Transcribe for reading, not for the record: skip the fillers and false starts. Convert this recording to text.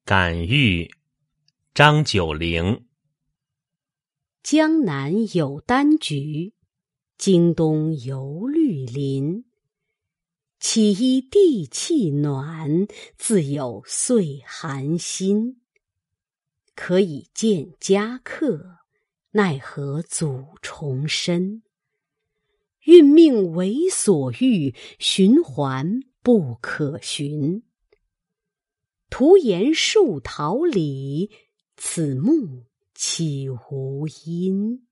感遇，张九龄。 江南有丹菊，京东有绿林。岂依地气暖，自有岁寒心。可以见家客，奈何阻重申？运命为所欲，循环不可寻。徒言树桃李，此木岂无因？